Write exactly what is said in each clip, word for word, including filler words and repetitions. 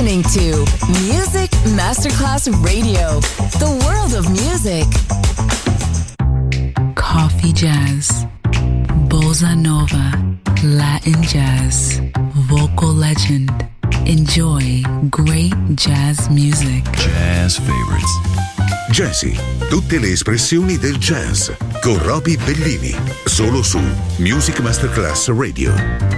listening to Music Masterclass Radio, the world of music. Coffee jazz, bossa nova, Latin jazz, vocal legend. Enjoy great jazz music. Jazz favorites. Jazzy, tutte le espressioni del jazz con Roby Bellini, solo su Music Masterclass Radio.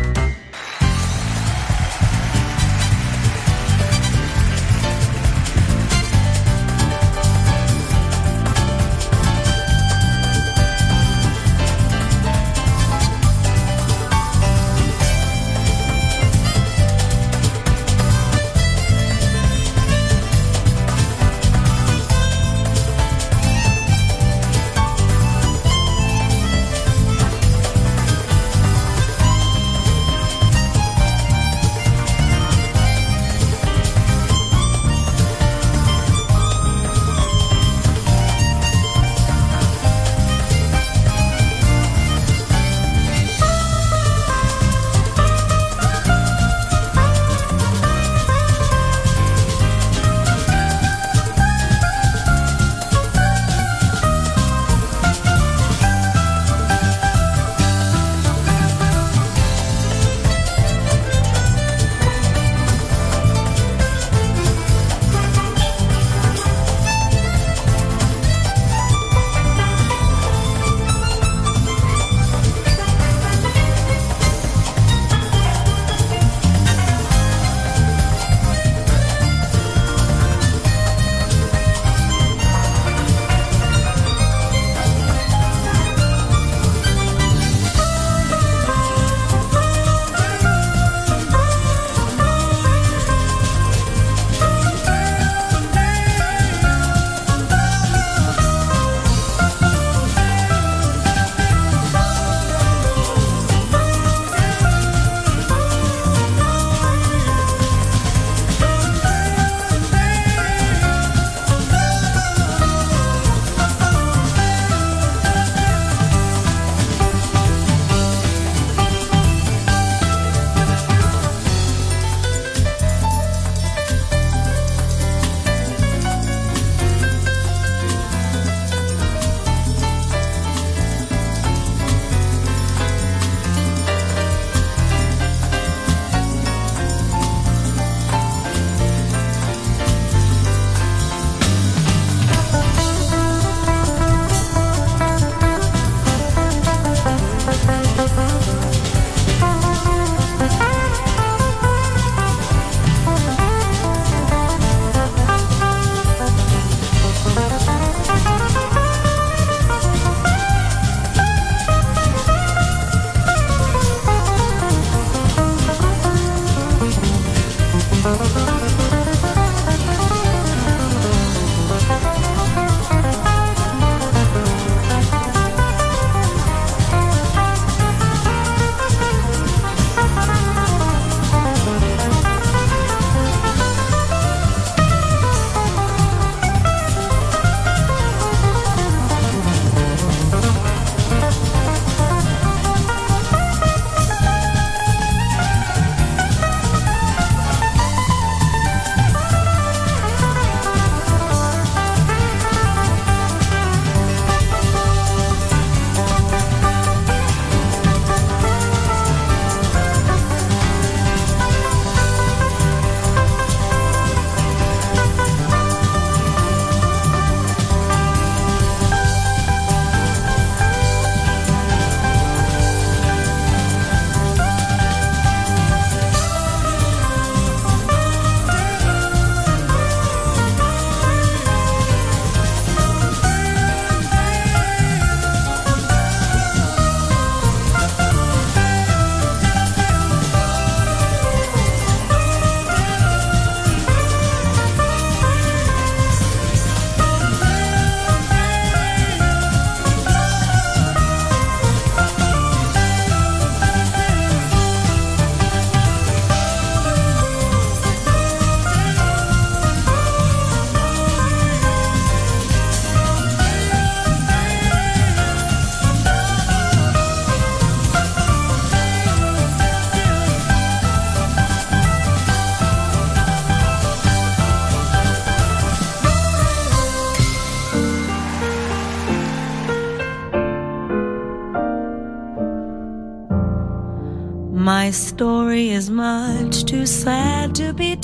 My story is much too sad to be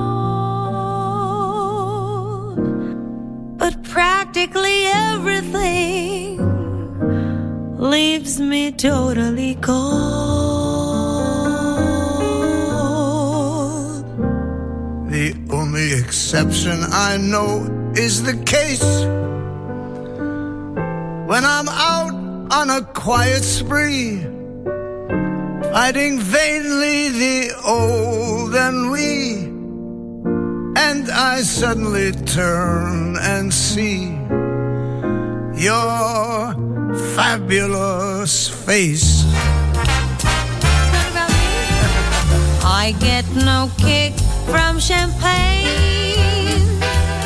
told, but practically everything leaves me totally cold. The only exception I know is the case when I'm out on a quiet spree, fighting vainly the old ennui, and I suddenly turn and see your fabulous face. What about me? I get no kick from champagne.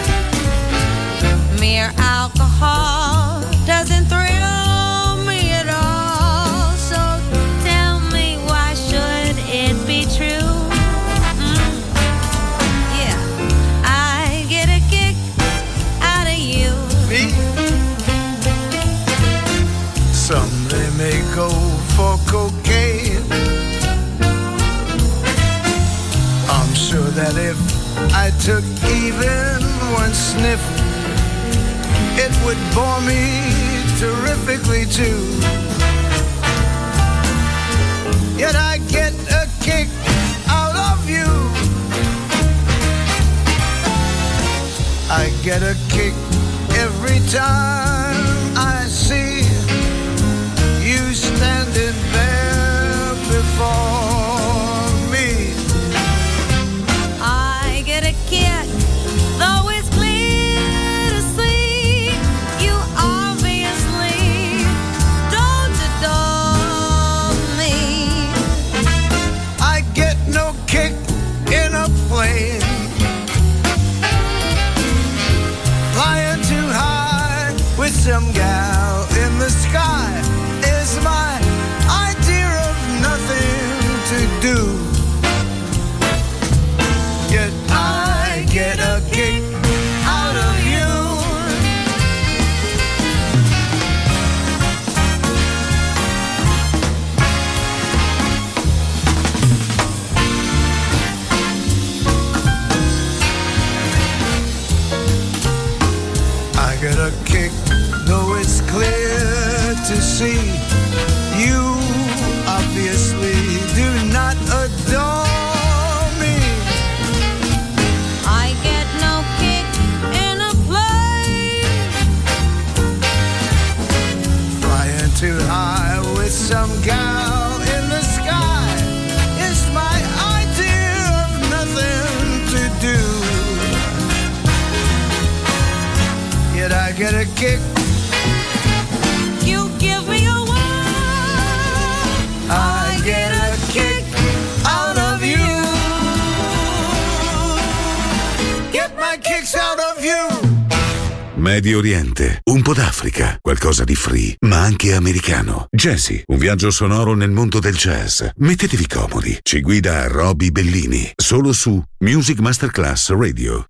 Mere alcohol doesn't thrill me at all. So tell me, why should it be true? Mm. Yeah, I get a kick out of you. Me? Some they may go for cocaine. I'm sure that if I took even one sniff, it would bore me terrifically too. Yet I get a kick out of you. I get a kick every time I see you standing there before me. I get a kick, though it's clear to see you obviously don't adore me. I get no kick in a plane, flying too high with some gal in the sky is my idea of nothing to do. Yet I get a kick out of you. I get a kick, though it's clear to see you obviously do not adore me. I get no kick in a plane, Flying too high with some gal in the sky is my idea of nothing to do. Yet I get a kick. you give me a whirl. I get a kick out of you. Get my kicks out of you. Medio Oriente, un po' d'Africa, qualcosa di free, ma anche americano. Jazzy, un viaggio sonoro nel mondo del jazz. Mettetevi comodi. Ci guida Roby Bellini, solo su Music Masterclass Radio.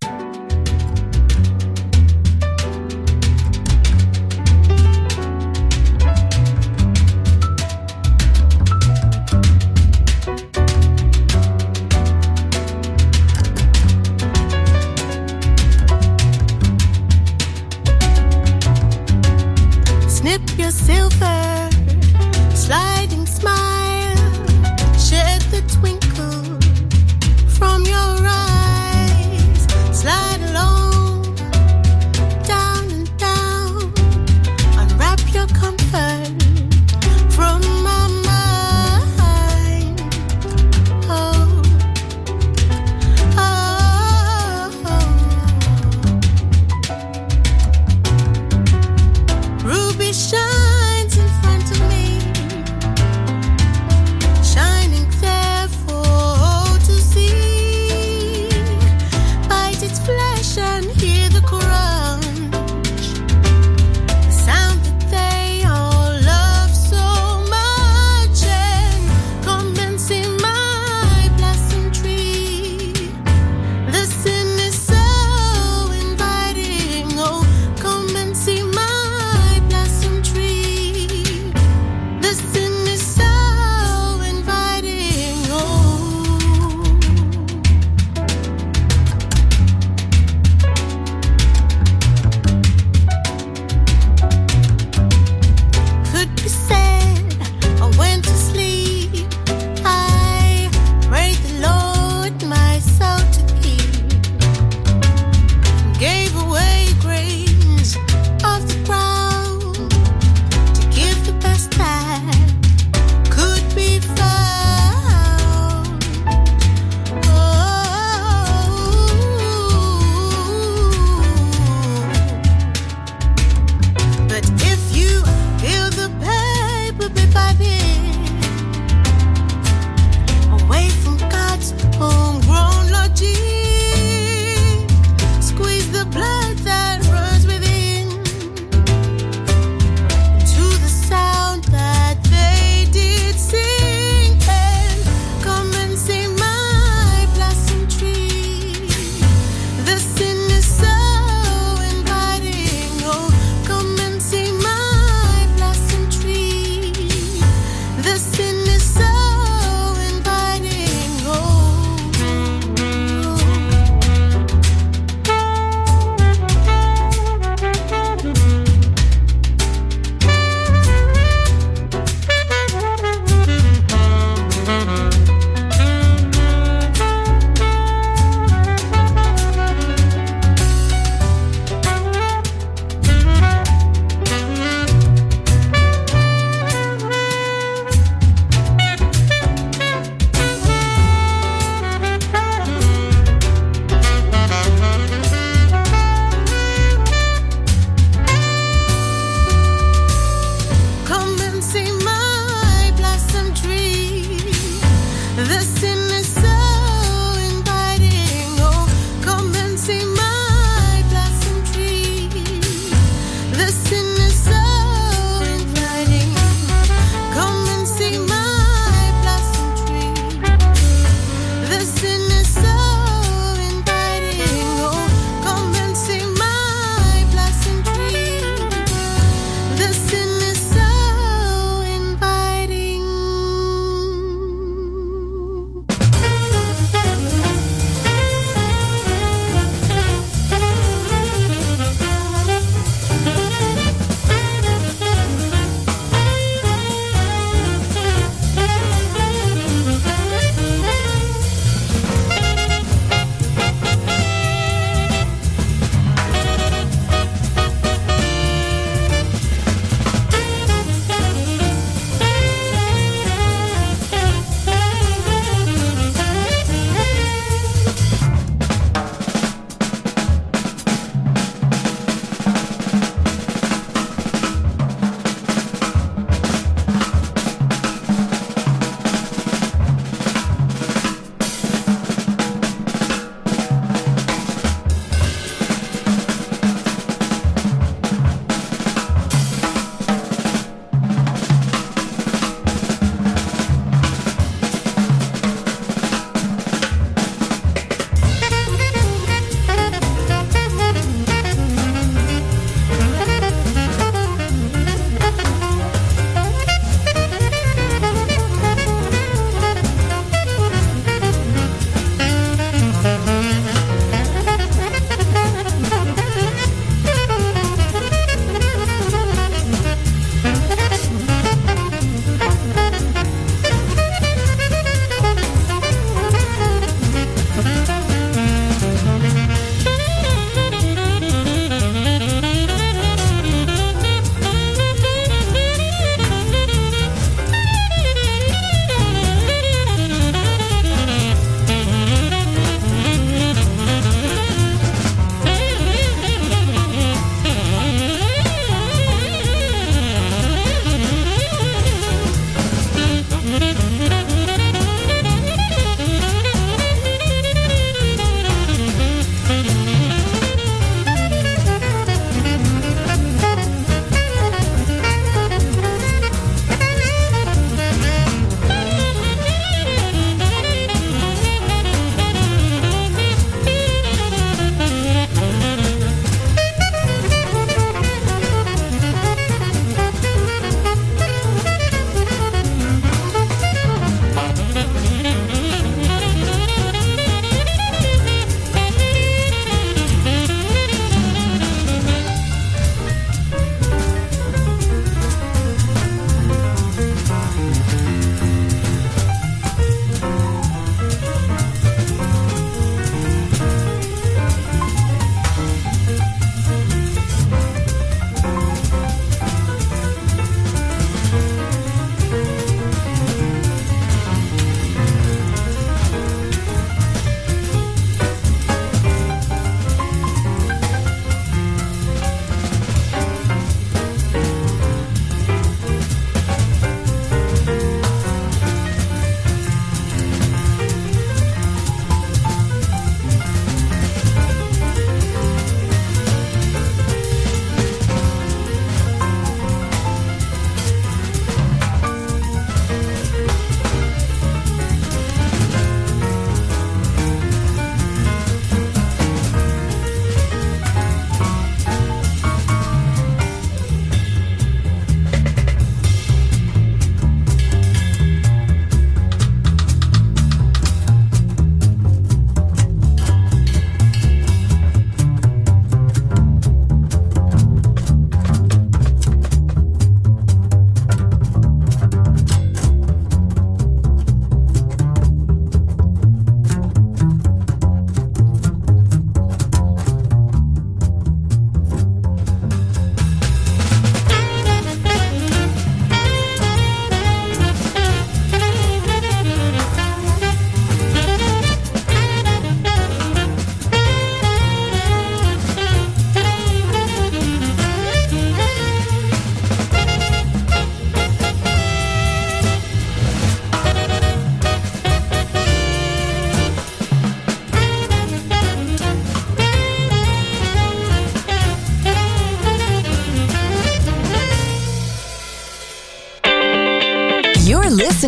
Snip your silver, sliding smile, shed the twinkle from your eyes.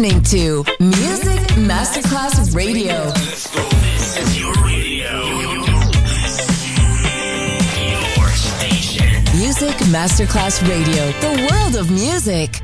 listening to Music Masterclass Radio. Let's go. This is your radio. Your station. Music Masterclass Radio. The world of music.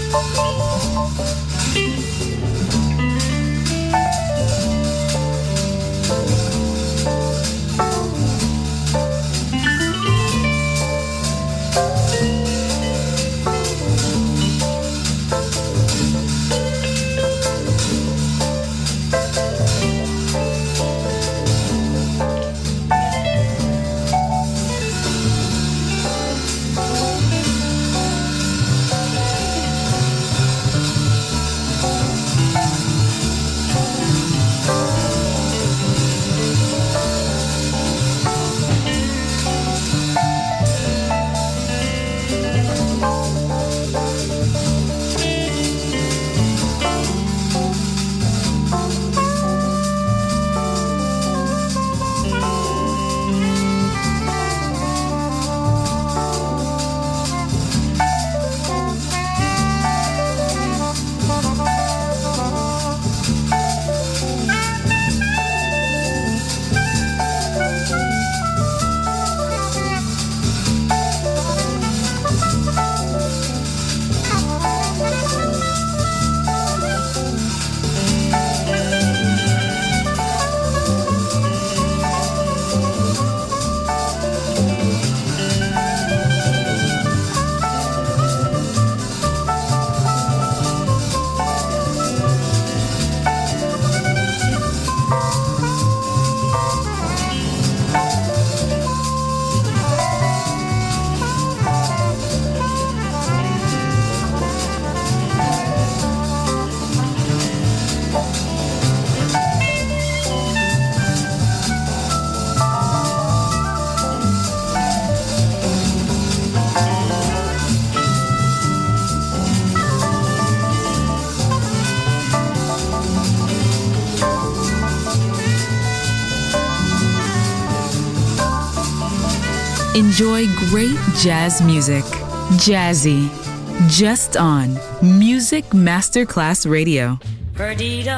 Enjoy great jazz music. Jazzy. Just on Music Masterclass Radio. Perdido,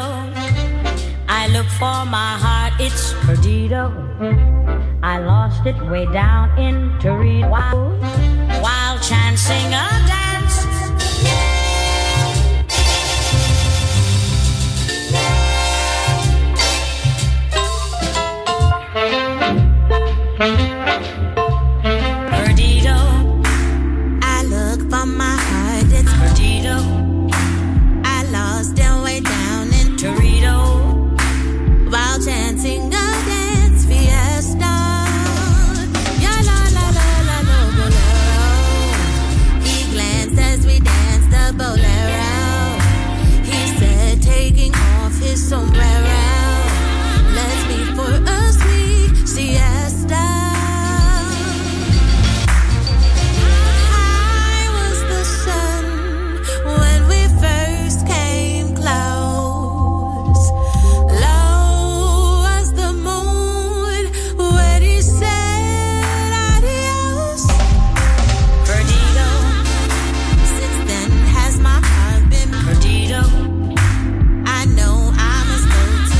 I look for my heart, it's perdido. I lost it way down in Torito while, while chancing a dance. Perdido, I look for my heart, it's perdido. I lost it way down in Torito while chancing a dance fiesta. Ya la la la la la bolero. He glanced as we danced the bolero. He said, taking off his sombrero, let's meet for a sweet siesta. I know I must go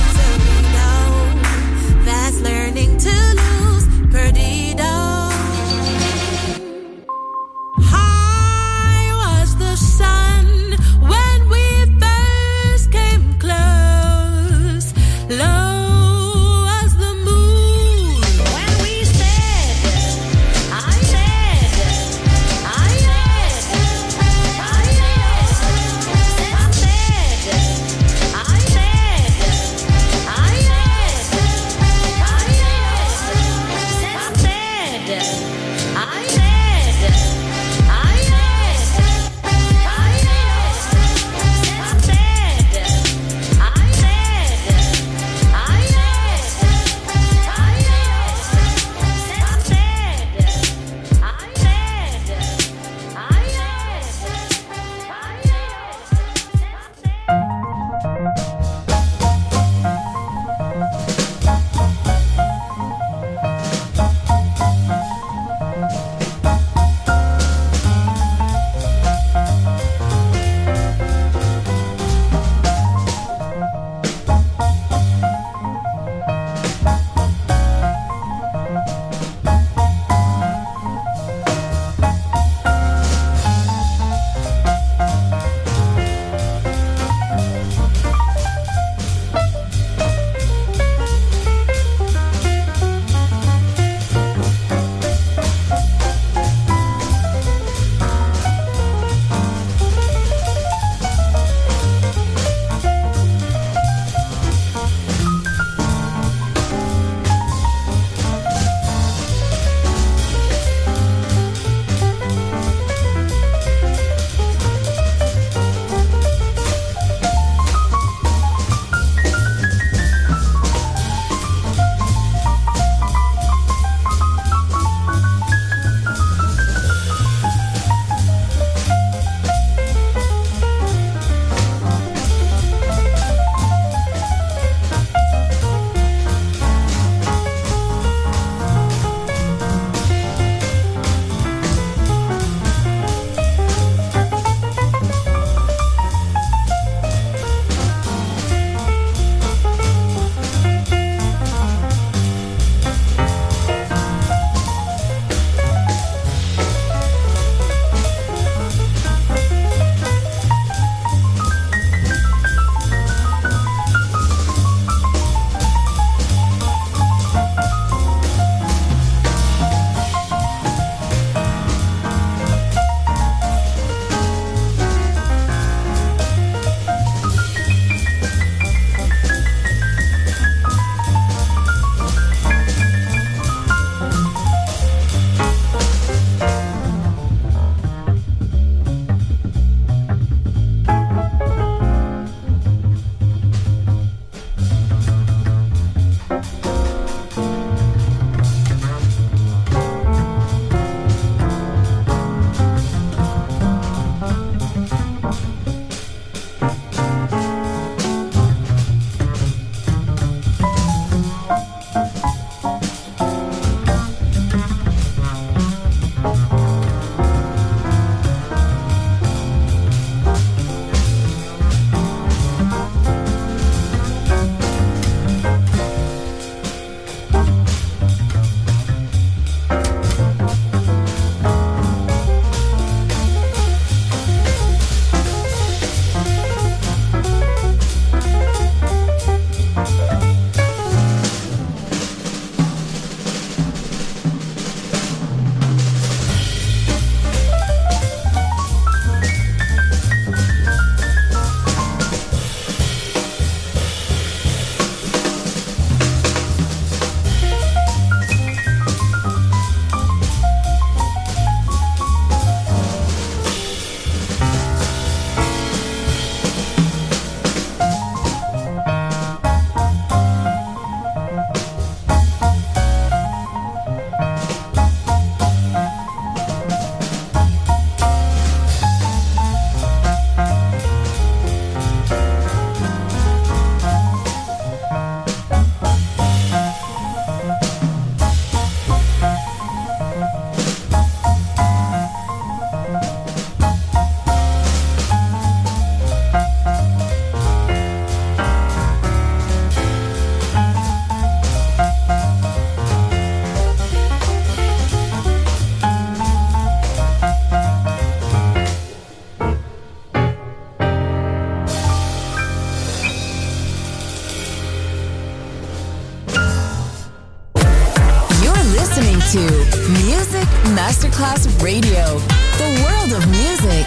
Masterclass Radio, the world of music.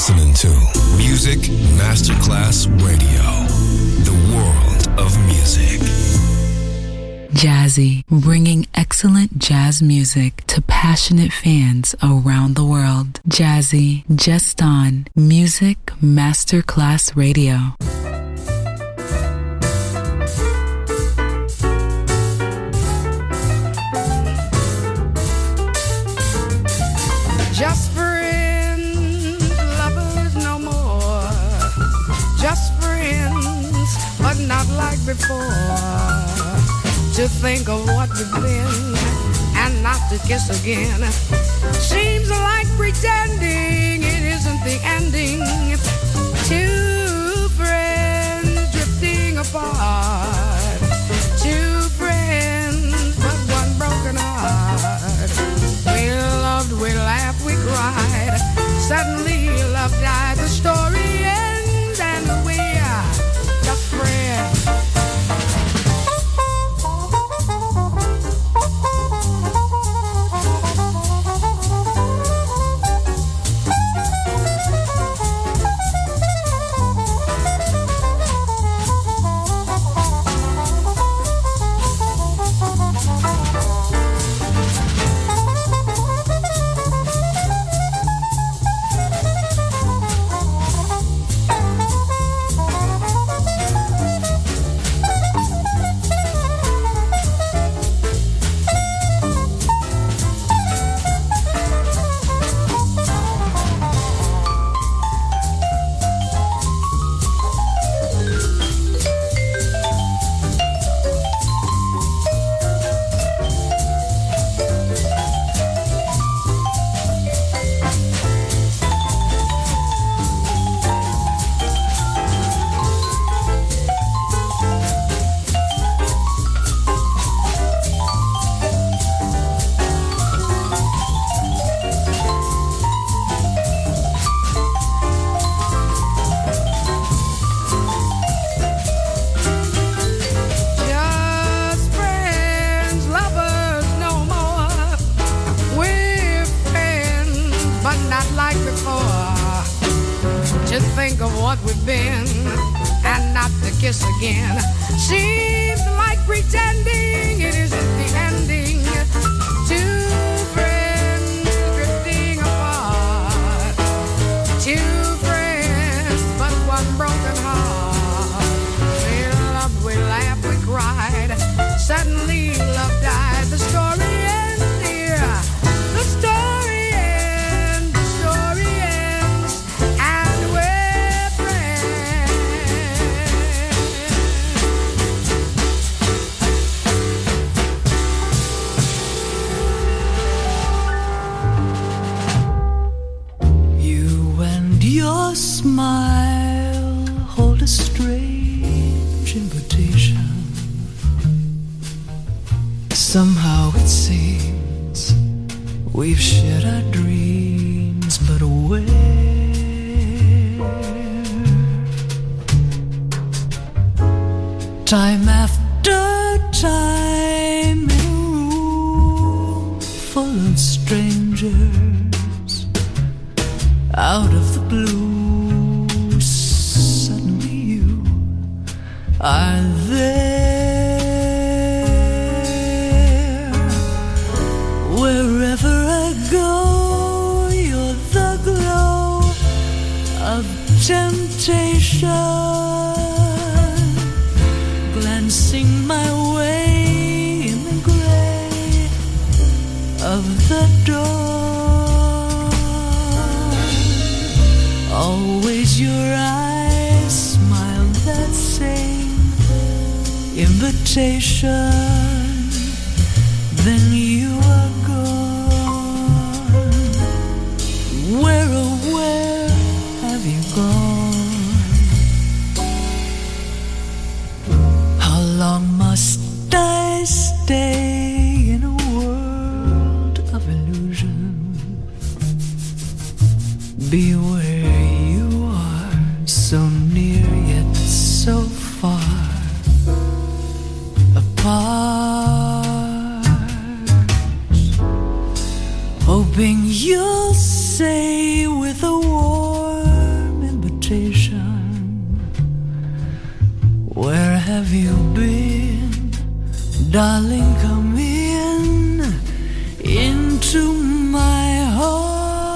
listening to Music Masterclass Radio, the world of music. Jazzy, bringing excellent jazz music to passionate fans around the world. Jazzy, just on Music Masterclass Radio. Just friends, lovers no more. Just friends, but not like before. To think of what we've been and not to kiss again seems like pretending it isn't the ending. Two friends drifting apart. Two friends, but one broken heart. We loved, we laughed, we cried. Suddenly love died. The story ends and we are just friends. Somehow it seems we've shared our dreams, but where? Time after time in a room full of strangers, out of the blue, suddenly you are there. Wherever I go, you're the glow of temptation, glancing my way in the gray of the dawn. Always your eyes smile that same invitation. Then you are gone. Where, oh where have you gone? How long must I stay in a world of illusion? Be where you are, so near yet so far apart, hoping you'll say with a warm have you been? Darling, come in into my heart.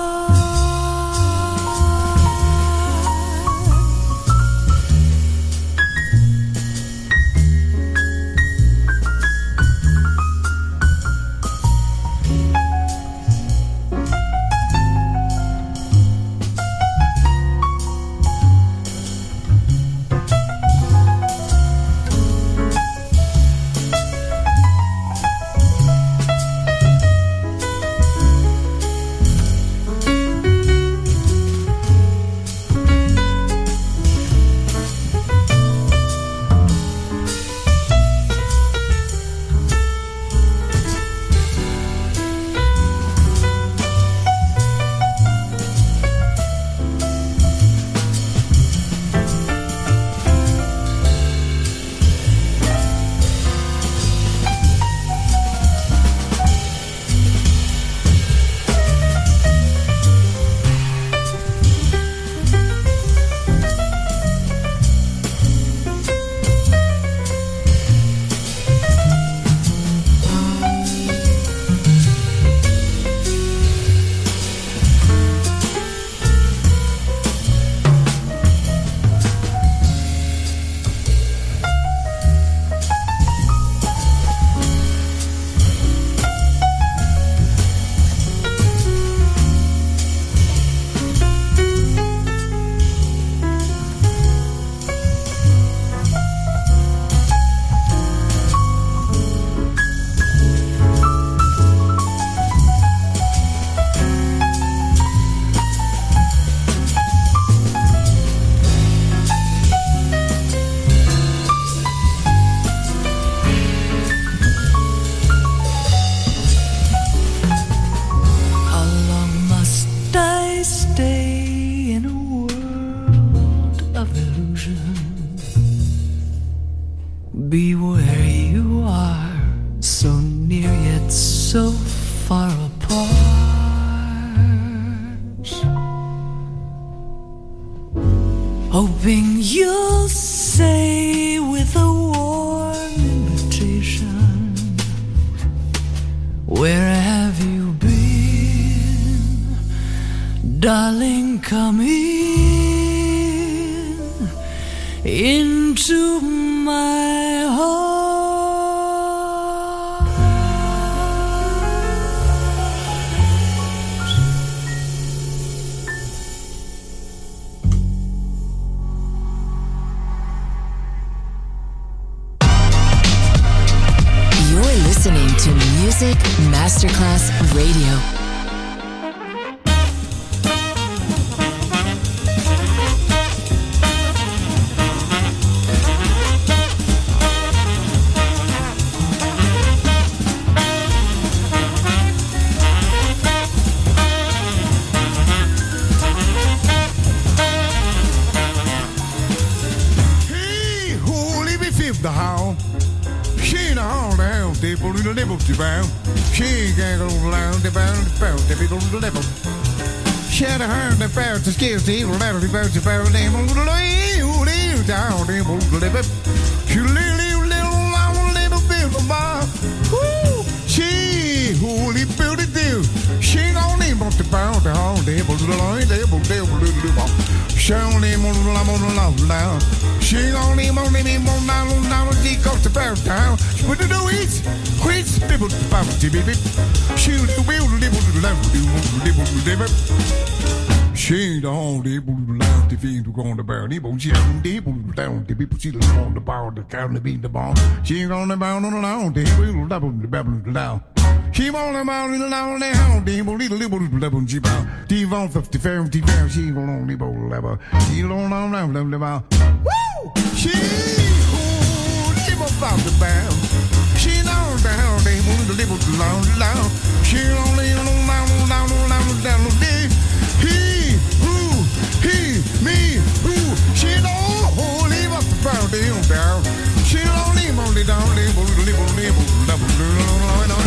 Be where you are, so near yet so far apart. Hoping you'll say with a warm invitation, where have you been? Darling, come in into my heart. You're listening to Music Masterclass Radio. The how she ain't all down, they pull the level to bound. She ain't gonna go around the bound, the bound, they go to the level. She had a hand that bound to scale the evil level, the bound to bound, they move the way, you live down, they move the level. She live little, long little bit of bar. Woo! She holy built it do. She ain't gonna name up the bound, the hall, they move the line, they move the level. She only move the love now. She only only me more now now she goes to bow down. She put it do it. Quit people to bow to baby. She will live with the love live live. She the only able to learn the thing to go on the bow. Able she ain't able to down the people see the on the bow the count the beat the ball. She ain't on the bow on the loud. They will double the babble down. She won't about little down there, how they will little little level she bow. T one fifty fair, T fair, she will only bowl level. She don't know now, level about. Woo! She who live about the bound. She knows the hell they will live loud, loud. She only know now, now, now, down there. He, who, he, me, who. She know who live up the bound, they don't down. She only only down, they will live, live, level, level, level.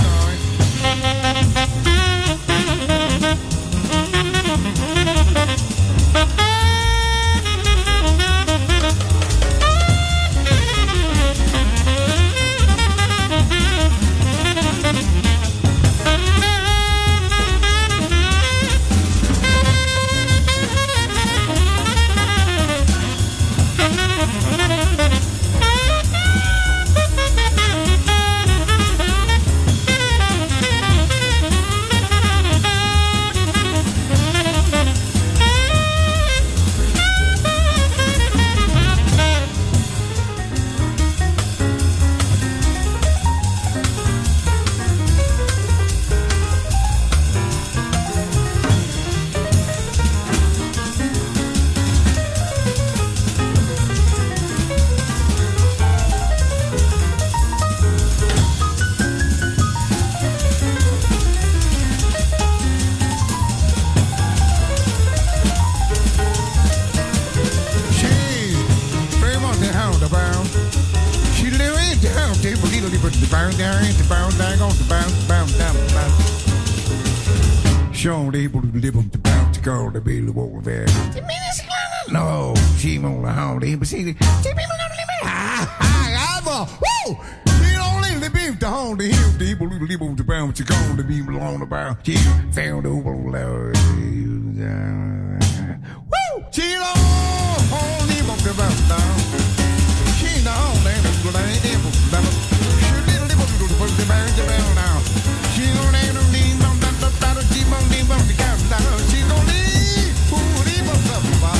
bound down, the bound down, on the bound, bound down, bound. Show the able to live on the bound to go to be the wall there. No, she won't hold him, but see, she people don't live. Ah, ah, ah, woo! You don't live the beef to hold the hill, the able to live on the bound to go to be along the bound. She found over the woo! She don't hold him on the bound down. She don't live on the bound. She didn't live on the bound now. She don't live on the bound. She don't live on the bound. She don't live who live on the bound.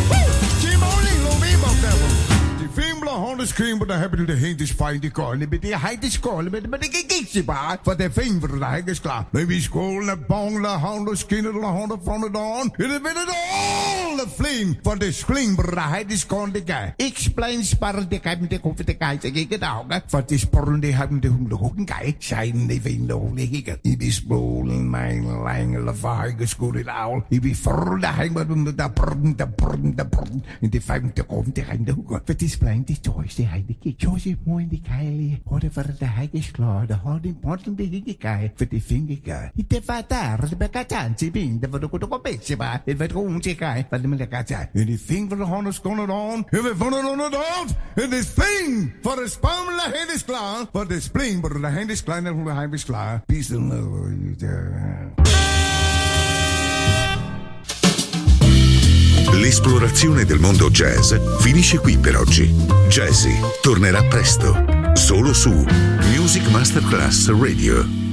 On the screen, but I hebben de heen fijn die kool. Met die heid is kool, met met die kiekje baar. Voor de vinger de heid is klaar. Maybe school, de bong, de hand, de skin, de hand van de dawn. En dan ben het al de flame. Voor de screen, but de heid is kool, de guy. Explain spar, de guy met de kop, de guy. Zeg ik het ook. Voor de sporren, die hebben de hoek, de hoek, een guy. Zijn de vinger, de hoek, ik het. Ik is boel, mijn lange lavaai, geschoed in oul. Ik ben voor de heen, maar de da prrn, da prrn, da prrn. En de vijf, de kop, de heen, de hoek. Voor de splein, die Joyce, de heide kijk. Joyce is mooi in die keilie. Hoorde voor de hek is klaar. De hoorde in potten de hik kei. Voor die vinger kei. Het is wat daar. De bekatantje bin. De wordt ook een beetje maar. Het werd gewoon te kei. Van de melekatje. En die vinger van de hand is gone on. En we vonden het on het out. En die spring. Voor de spam de hand is klaar. Voor de spring. Maar de hand is klein en de hand is klaar. Peace and love. L'esplorazione del mondo jazz finisce qui per oggi. Jazzy tornerà presto, solo su Music Masterclass Radio.